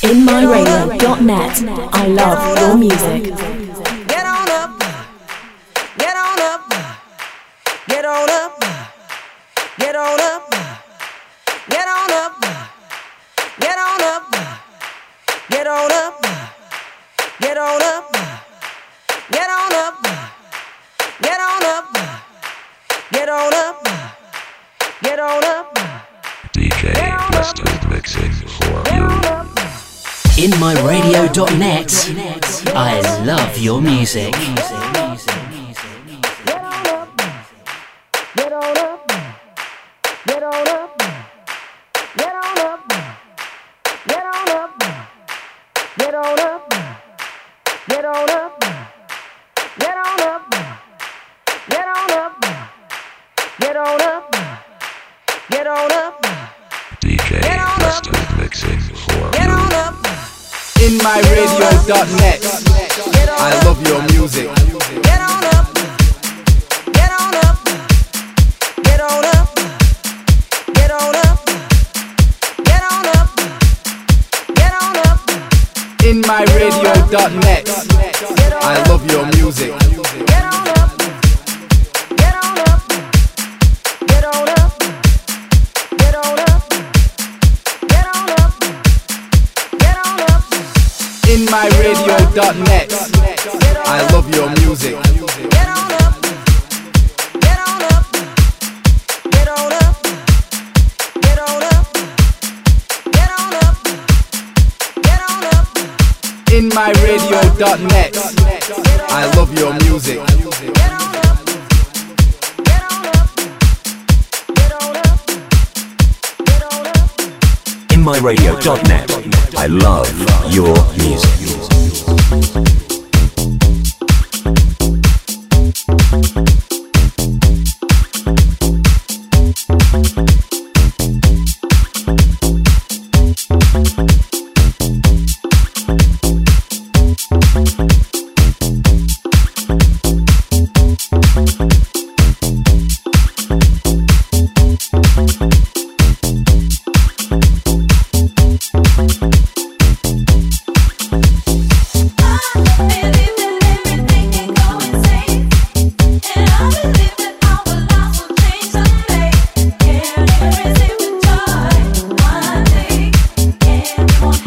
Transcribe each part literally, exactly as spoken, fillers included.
in my radio dot net. I love your music. Get on up, get on up, get on up, get on up, get on up, get on up, get on up, get on up, get on up, get on up, get on up, get on up. D J Preston mixing for you. in my radio dot net. I love your music. D J Preston mixing for you. in my radio dot net. I love your music. Get on up, get on up, get on up, get on up, get on up, get on up. in my radio dot net. I love your music. Get on up, get on up, get on up, get on up, get on up, get on up. in my radio dot net. I love your music. Get on up, get on up, get on up, get on up, get on up, get on up. in my radio dot net. I love your music. Get on up, get on up, get on up, get on up. in my radio dot net. I love your music. One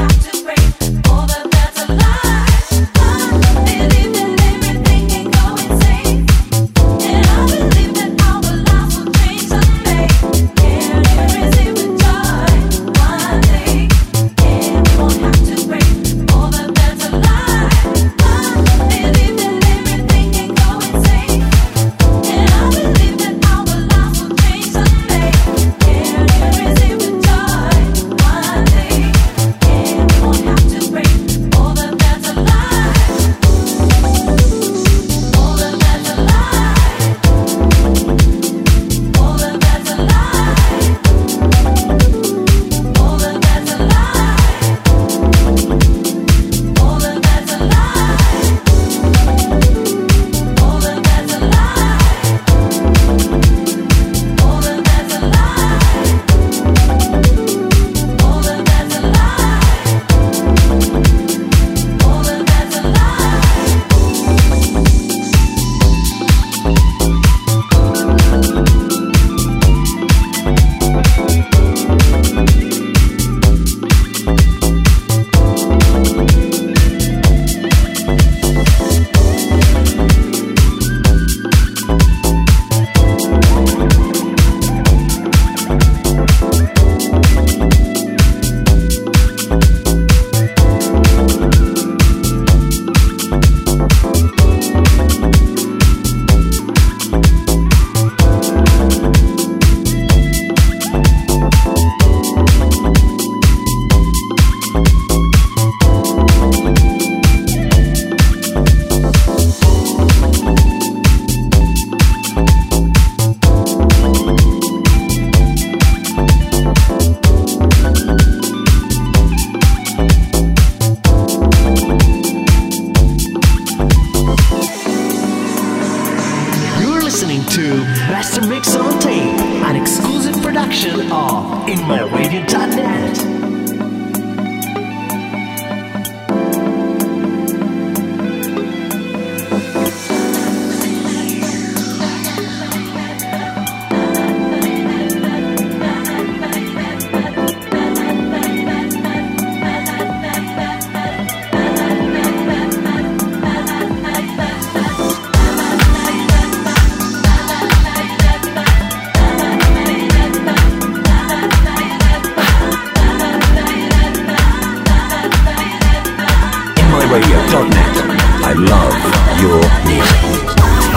radio dot net. I love your music.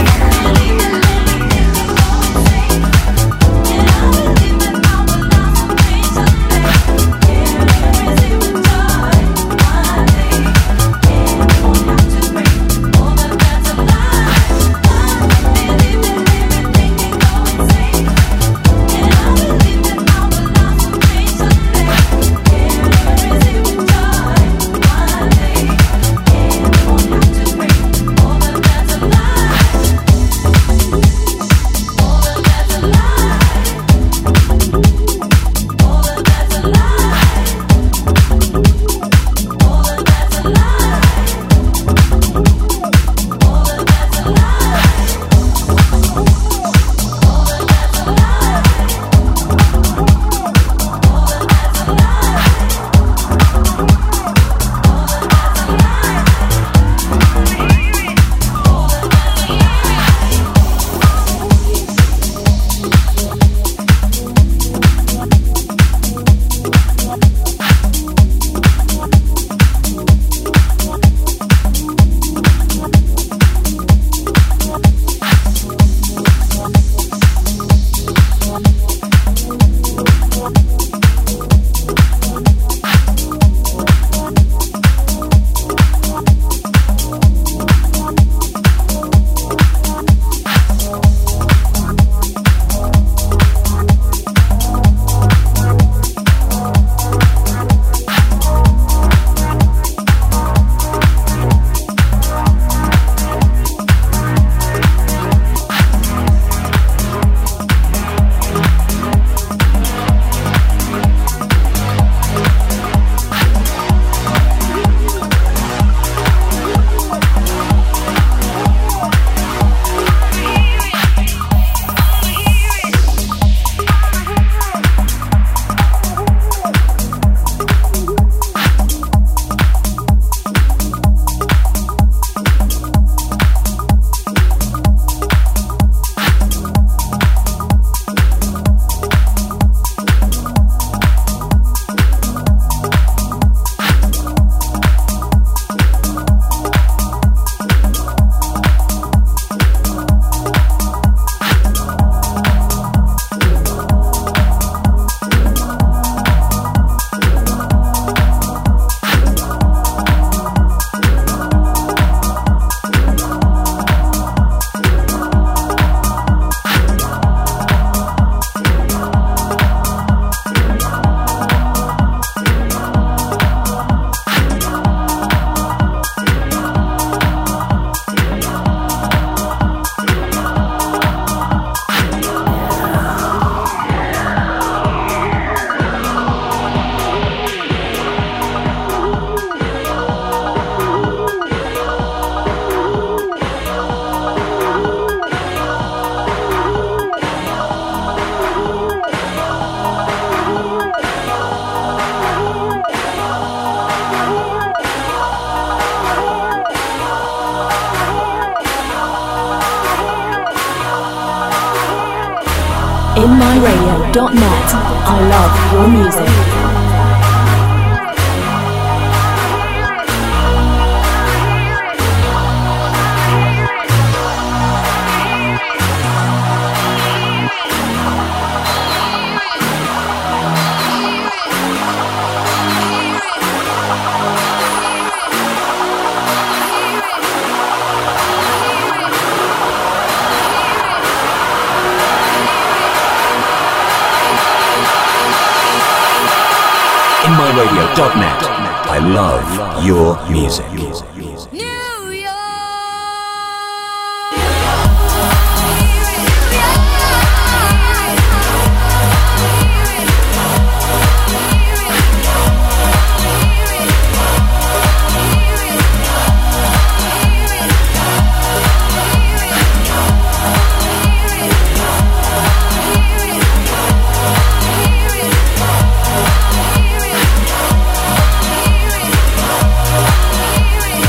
in my radio dot net. I love your music. in my radio dot net. I love your music. Hear it.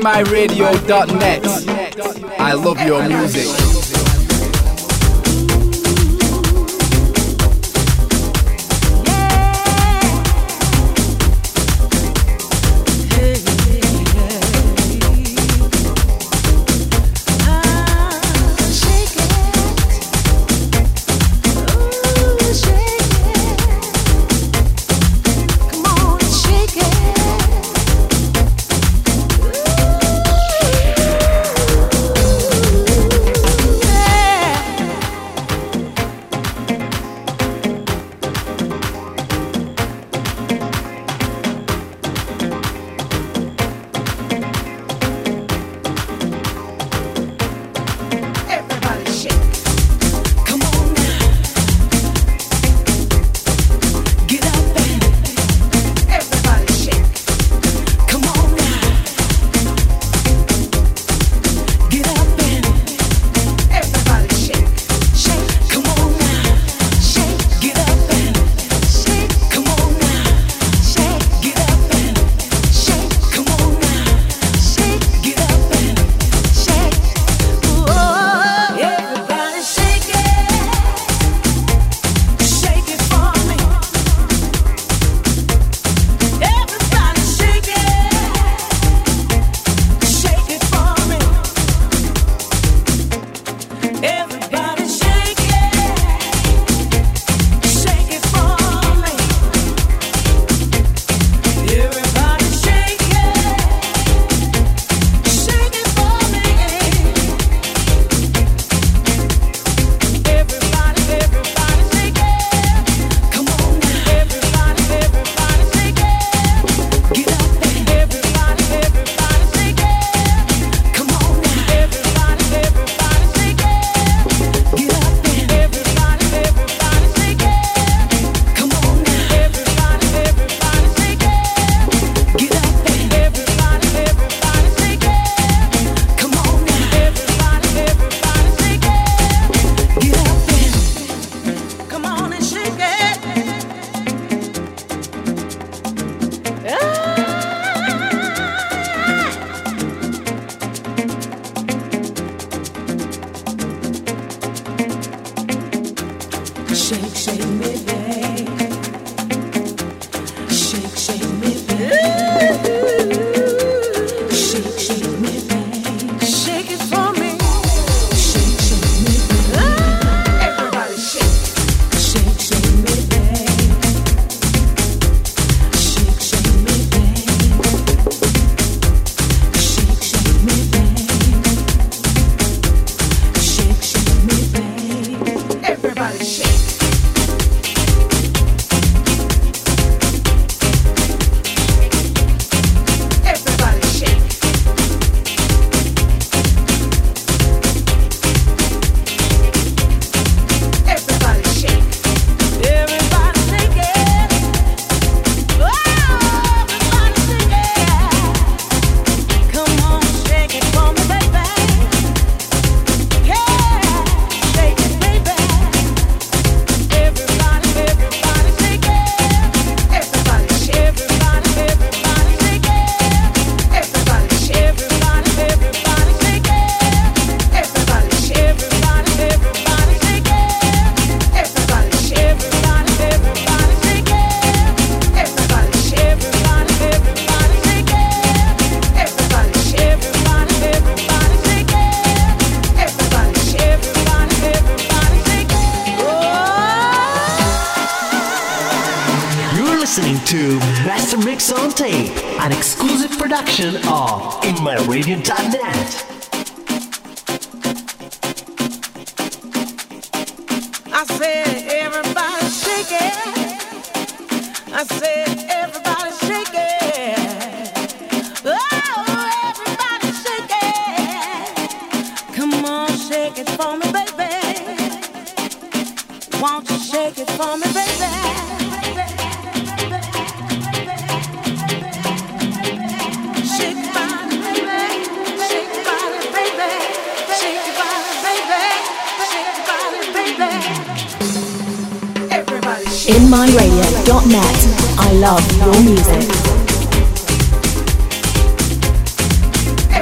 in my radio dot net. I love your music. To Master Mix on Tape, an exclusive production of in my radio dot net. I said everybody shake it. I said everybody shake it. Oh, everybody shake it. Come on, shake it for me, baby. Won't you shake it for me, baby? in my radio dot net. I love your music.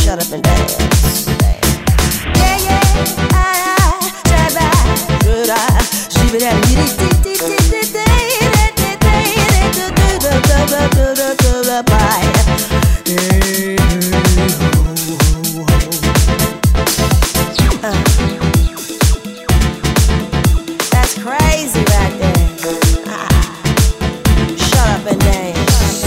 shut up and dance. Yeah, yeah, I, I, should I, should I, should I, that's crazy right there. Ah, shut up and dance.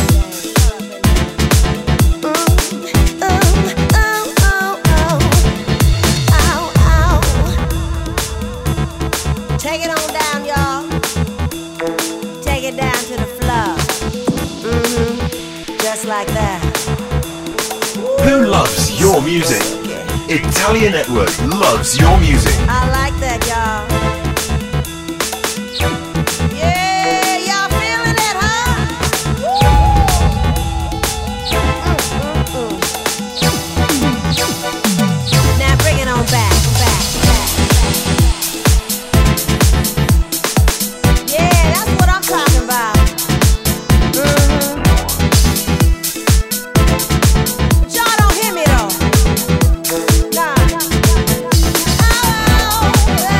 Take it on down, y'all. Take it down to the floor. Mm-hmm. Just like that. Who loves your music? Italian Network loves your music. I like that, y'all. Yeah, y'all feeling it, huh? Mm-mm-mm. Now bring it on back, back, back. Yeah, that's what I'm talking about. Mm-hmm. But y'all don't hear me though. Nah. Oh,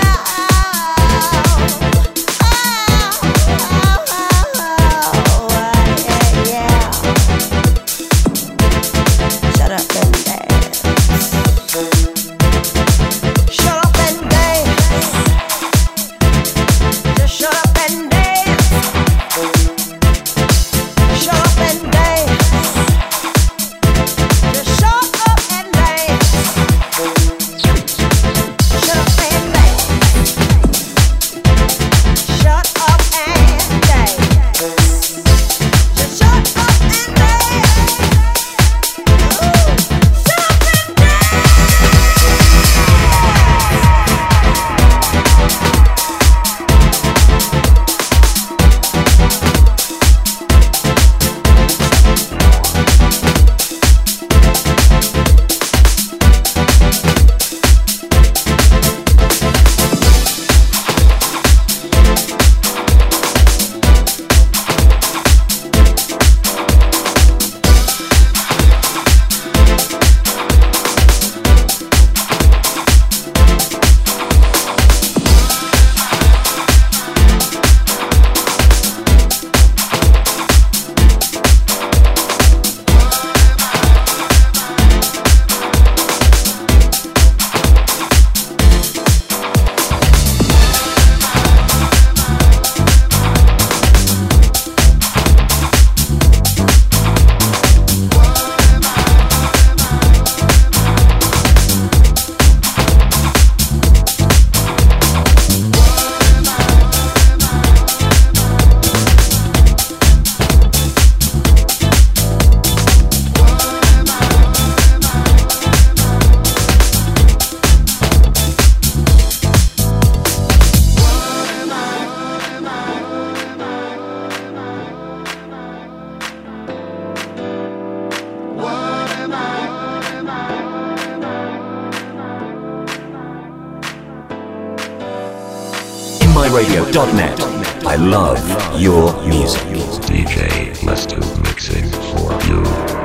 my radio dot net. I love your music. D J Lesto mixing for you.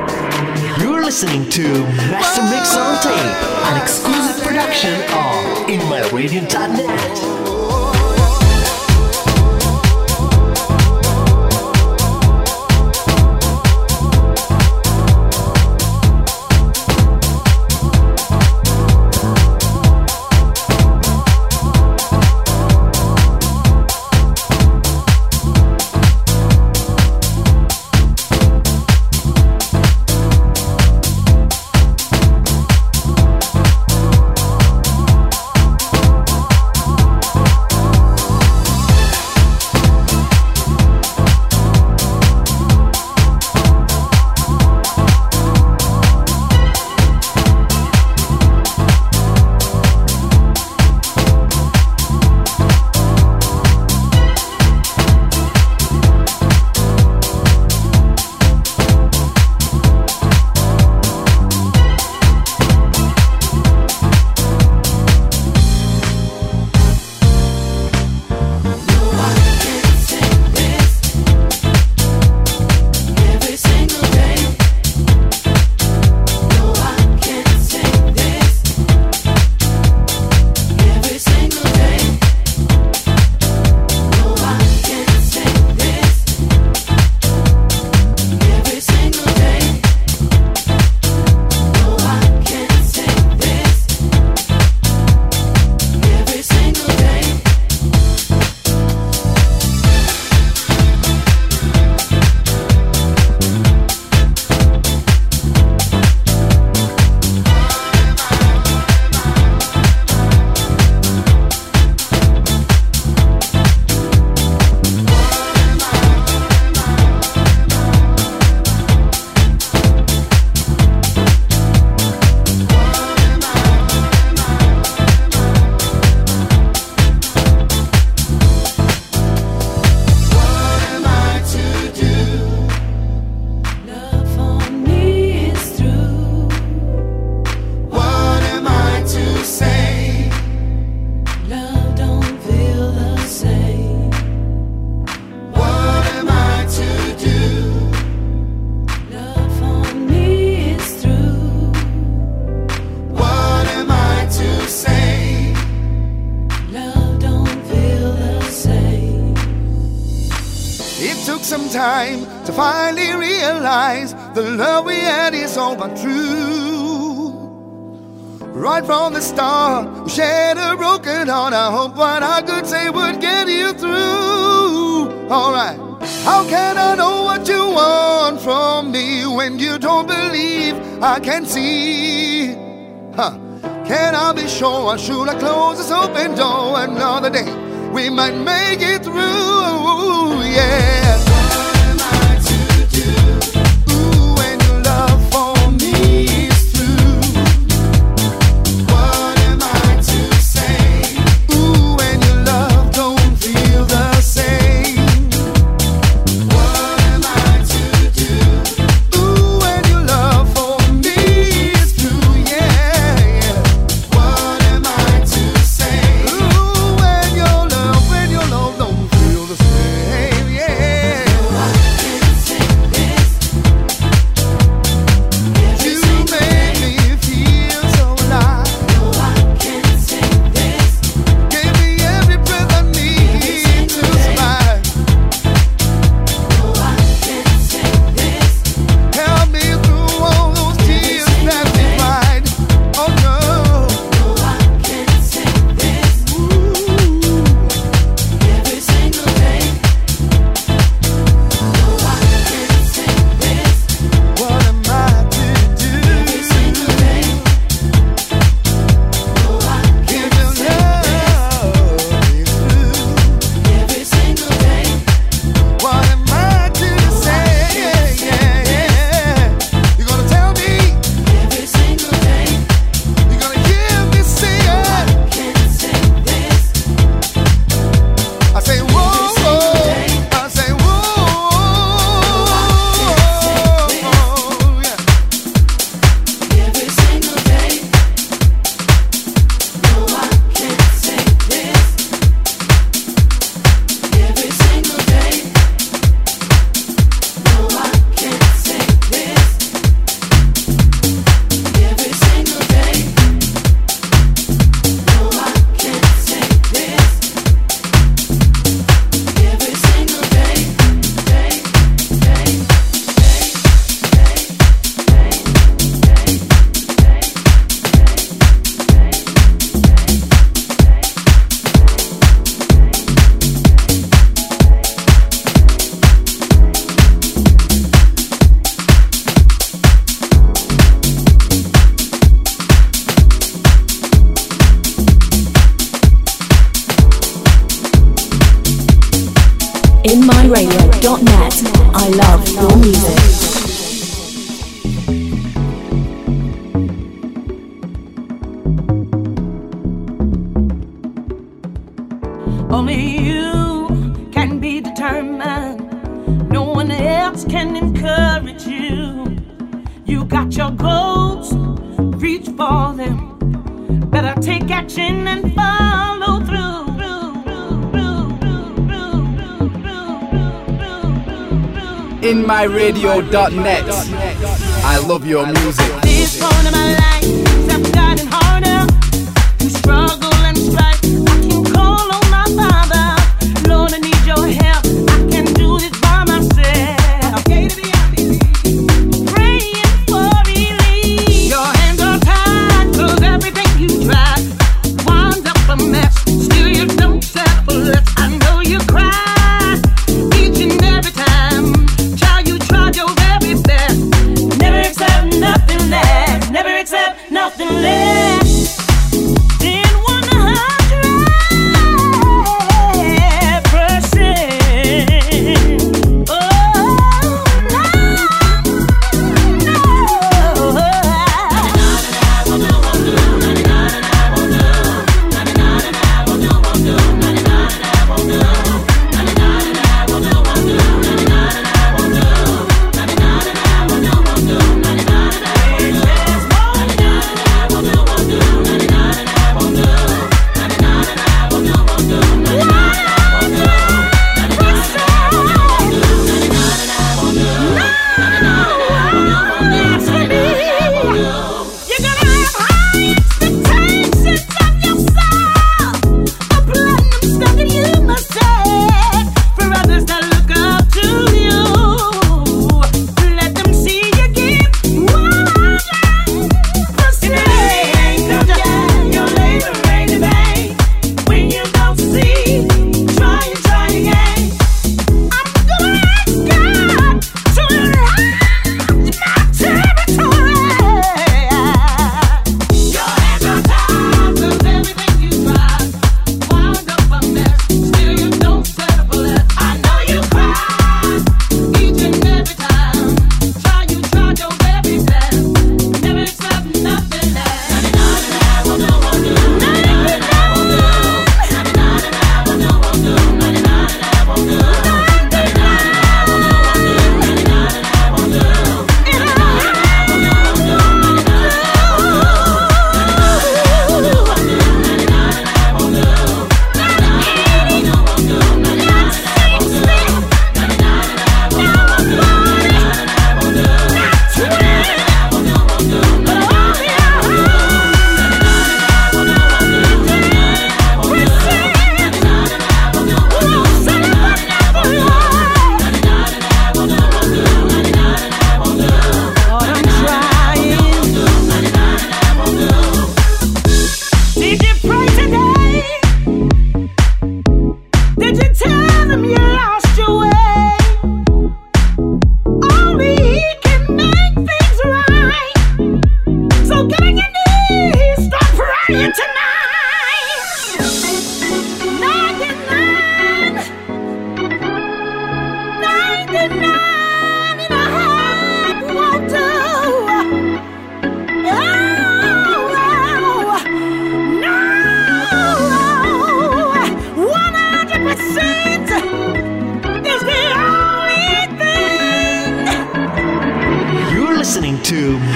You're listening to Master Mix on Tape, an exclusive production of in my radio dot net. time to finally realize the love we had is all but true. Right from the start, we shared a broken heart. I hope what I could say would get you through. Alright. How can I know what you want from me when you don't believe I can see? Huh. Can I be sure, or should I close this open door another day? We might make it through, yeah. What am I to do? Ooh, when your love for me is through. What am I to say? Ooh, when your love don't feel the same. What am I to do? Ooh, when your love for me is through, yeah, yeah. What am I to say? Ooh, when your love, when your love don't feel the same, yeah. No, I can't take this. You make me feel so alive. No, I can't take this. Give me every breath I need to survive. No, I can't take this. Help me through all those tears that we cried. Oh no. No, I can't take this. Ooh. Every single day. No, I can't take this. What am I to do? Every single day. No, I can't take this. Every single day. What am I to say? Yeah, yeah, yeah. You're gonna tell me every single day. You're gonna hear me say it. Can't take this. I say whoa, whoa. I say whoa, yeah. Every single day. No, I can't take this. Every single day. No, I can't take this. Every single day. No, I can't take this. Every single day, day, day, in my radio dot net. I love your music. Only you can be determined. No one else can encourage you. You got your goals, reach for them. Better take action and follow through. in my radio dot net. I love your music. This point of my life, I've gotten harder to struggle and strive. I can call on my Father. Lord, I need your help. I can't do this by myself. Praying for relief. Your hands are tied, 'cause everything you try winds up a mess. Still you don't settle for less. I know you cry each and every time. Child, you tried your very best. Never accept nothing less. Never accept nothing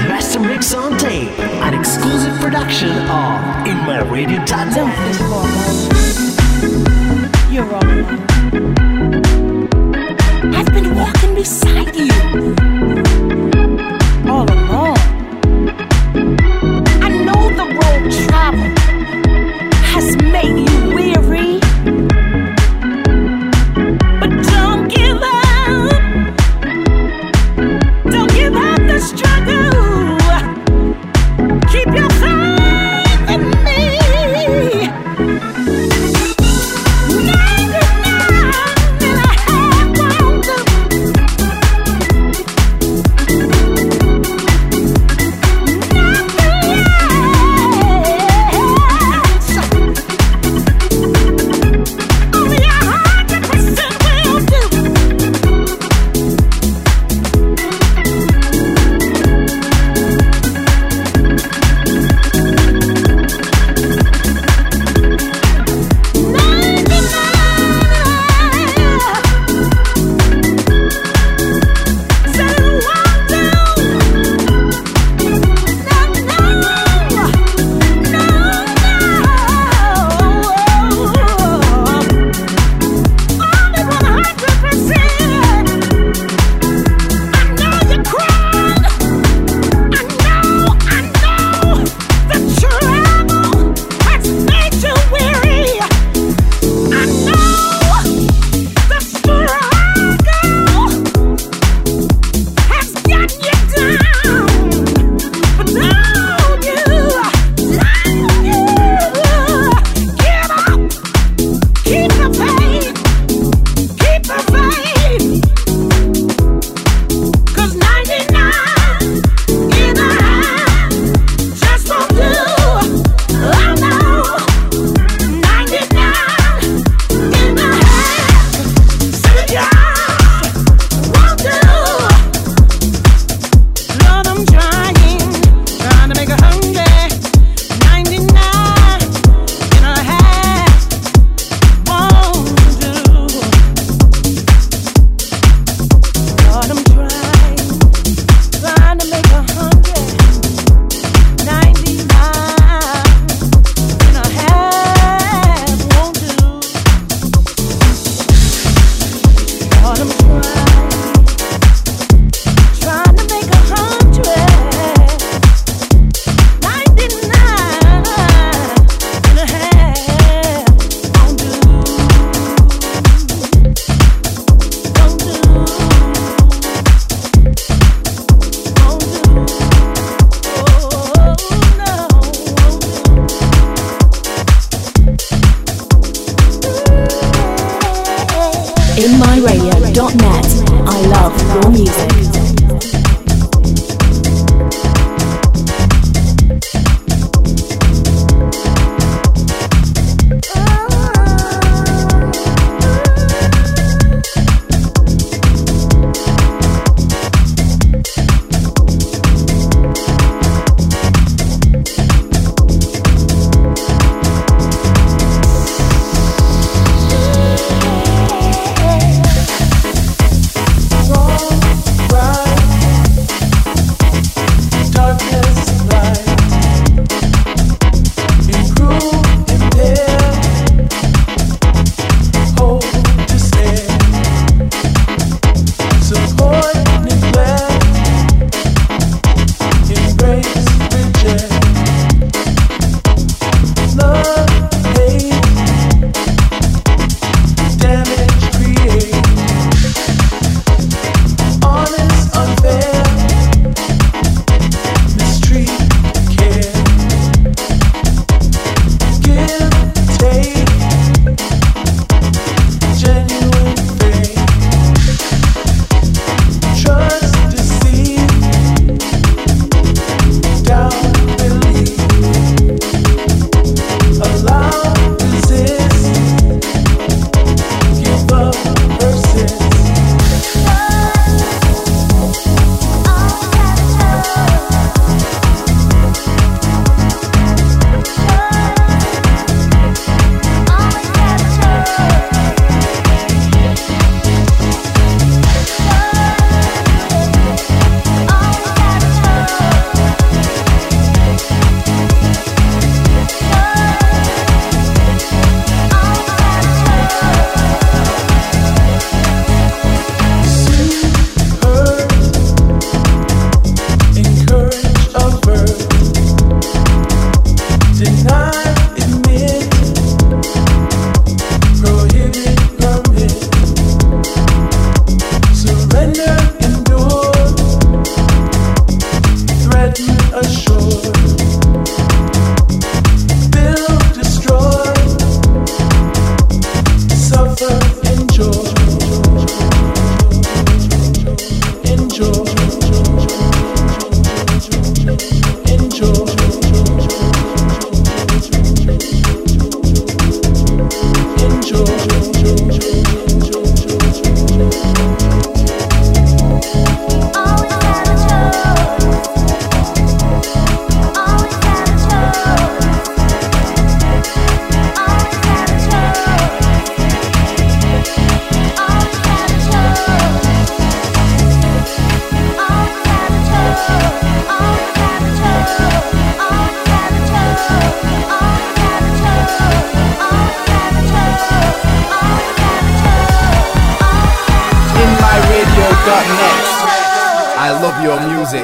Master Mix on Tape, an exclusive production of In My Radio dot net. You're all alone. I've been walking beside you all along. I know the road traveled has made you weary, but don't give up. Don't give up the struggle. Keep your faith in me. ninety-nine and a half won't do. I love your music.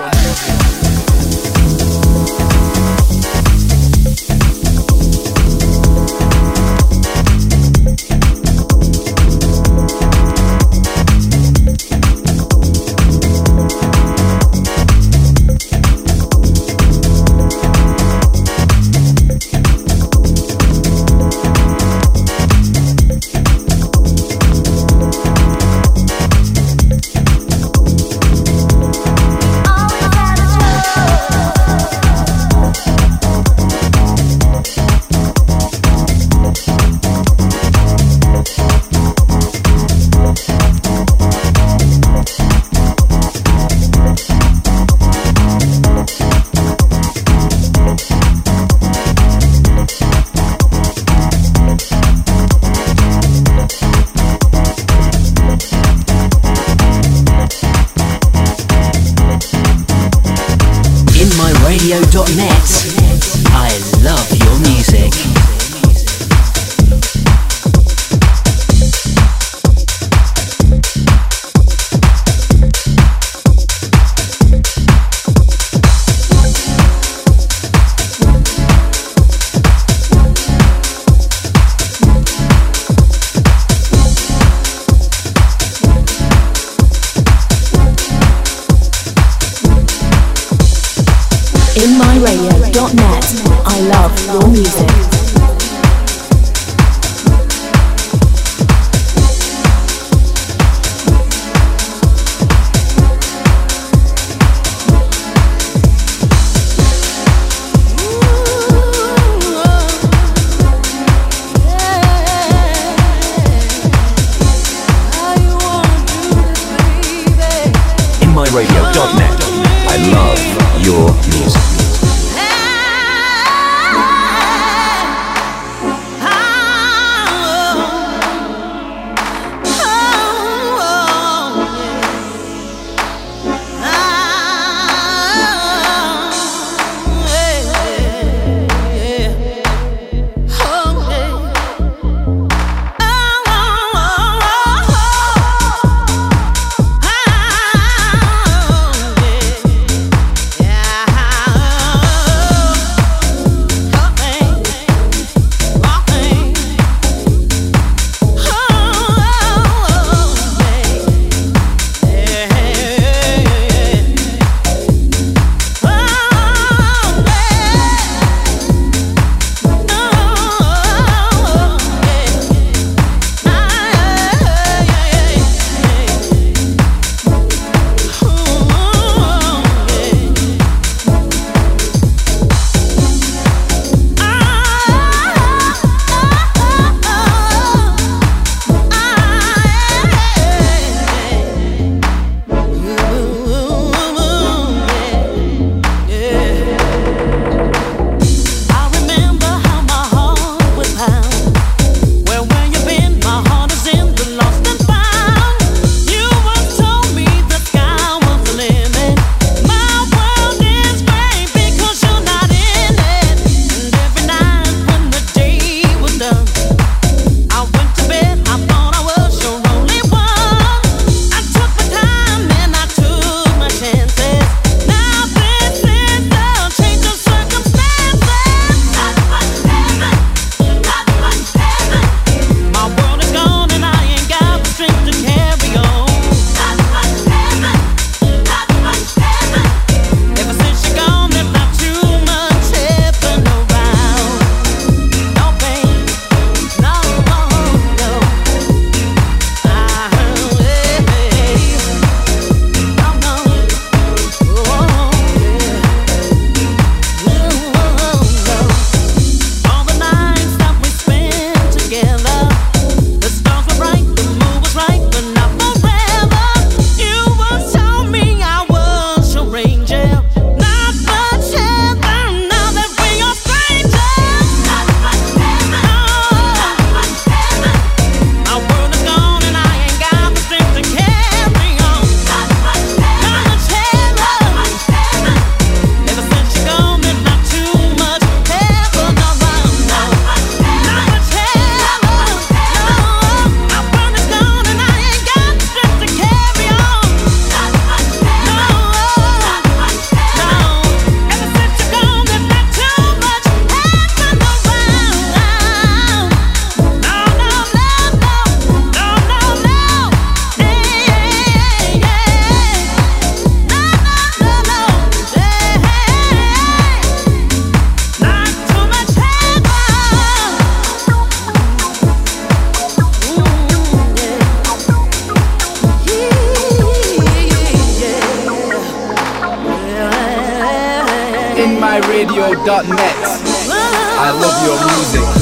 radio dot net. I love your music. in my radio dot net. I love your music. in my radio dot net. I love your music. in my radio dot net. I love your music.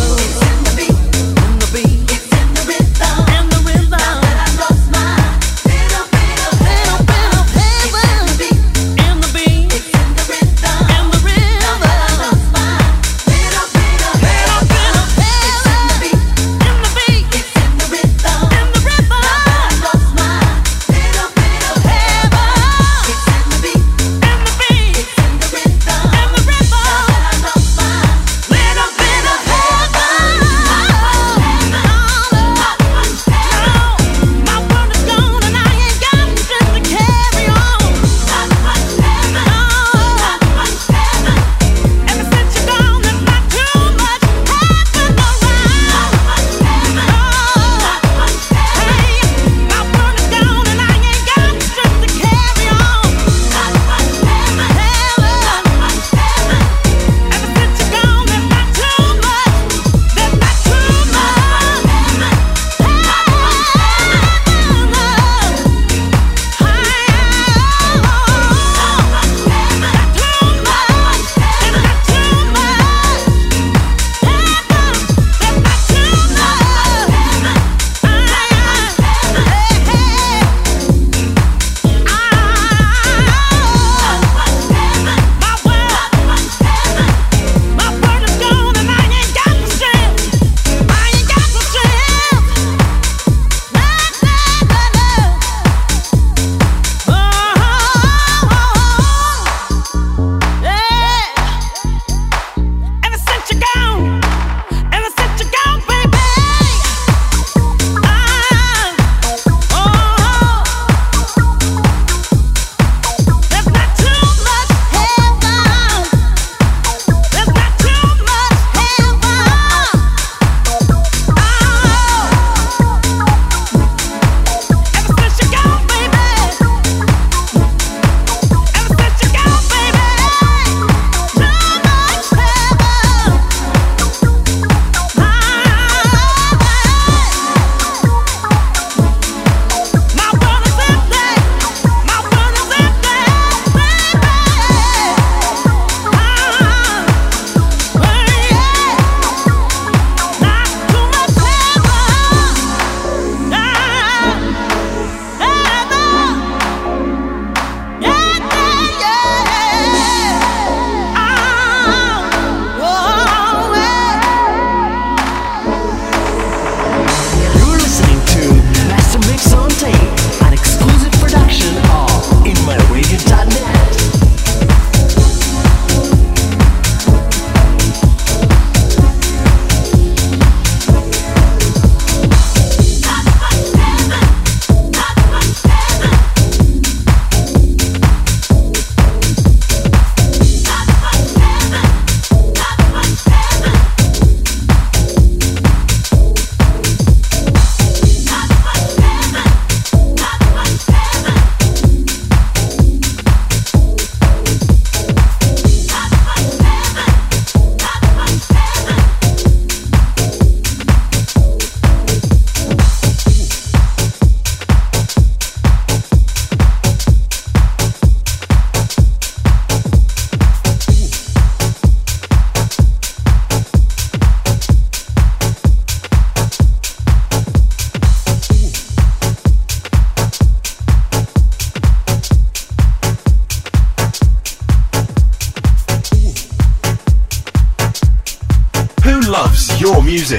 Loves your music.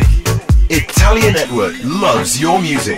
Italia Network loves your music.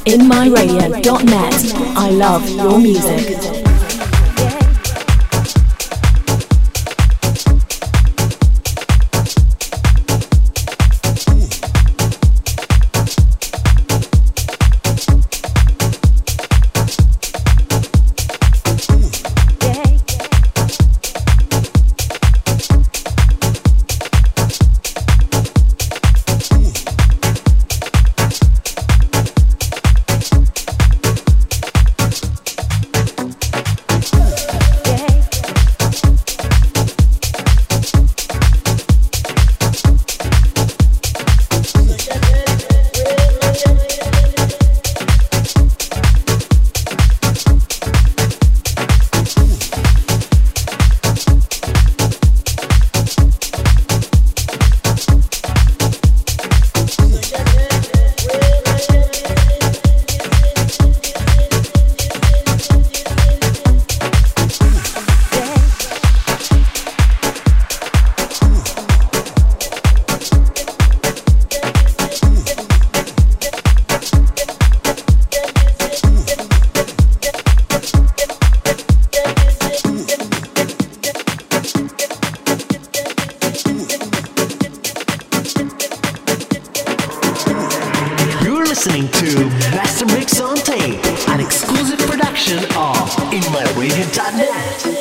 in my radio dot net. I love your music. Listening to Master Mix on Tape, an exclusive production of in my radio dot net.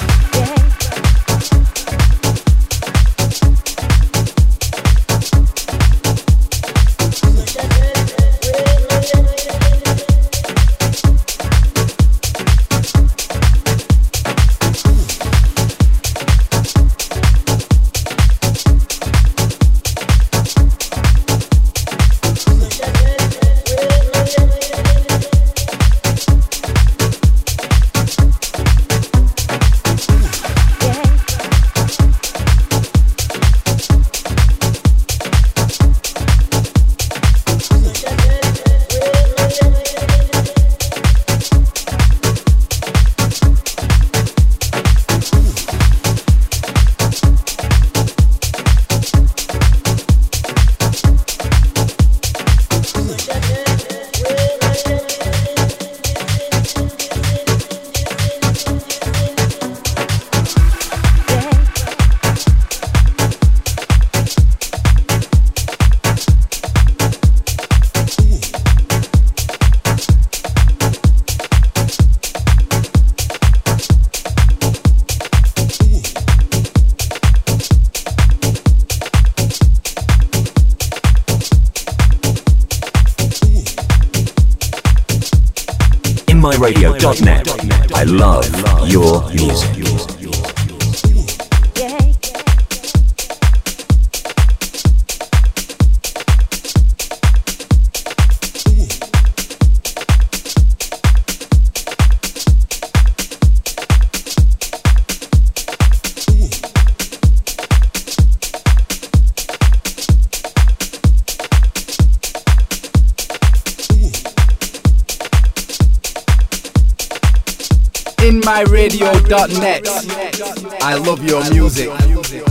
in my radio dot net. I love your music. in my radio dot net. I love your music.